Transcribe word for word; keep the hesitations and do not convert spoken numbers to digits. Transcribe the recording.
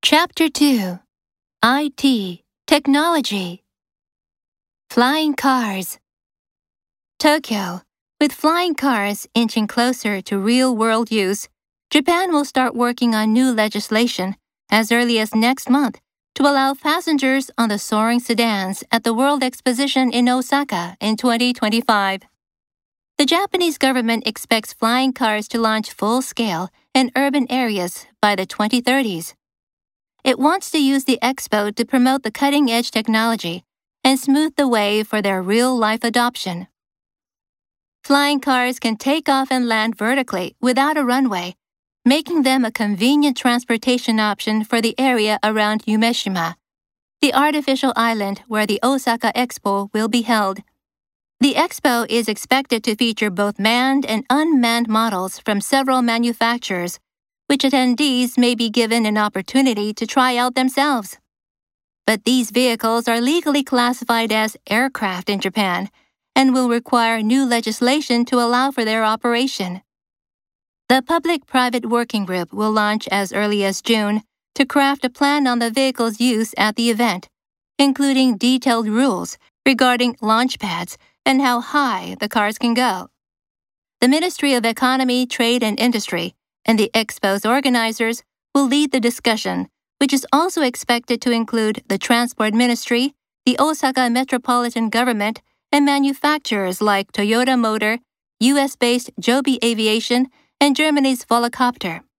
Chapter two I T Technology Flying Cars Tokyo. With flying cars inching closer to real-world use, Japan will start working on new legislation as early as next month to allow passengers on the soaring sedans at the World Exposition in Osaka in twenty twenty-five. The Japanese government expects flying cars to launch full-scale in urban areas by the twenty thirties. It wants to use the expo to promote the cutting-edge technology and smooth the way for their real-life adoption. Flying cars can take off and land vertically without a runway, making them a convenient transportation option for the area around Umeshima, the artificial island where the Osaka Expo will be held. The expo is expected to feature both manned and unmanned models from several manufacturers, which attendees may be given an opportunity to try out themselves. But these vehicles are legally classified as aircraft in Japan and will require new legislation to allow for their operation. The Public-Private Working Group will launch as early as June to craft a plan on the vehicle's use at the event, including detailed rules regarding launch pads and how high the cars can go. The Ministry of Economy, Trade and Industry and the Expo's organizers will lead the discussion, which is also expected to include the Transport Ministry, the Osaka Metropolitan Government, and manufacturers like Toyota Motor, U S-based Joby Aviation, and Germany's Volocopter.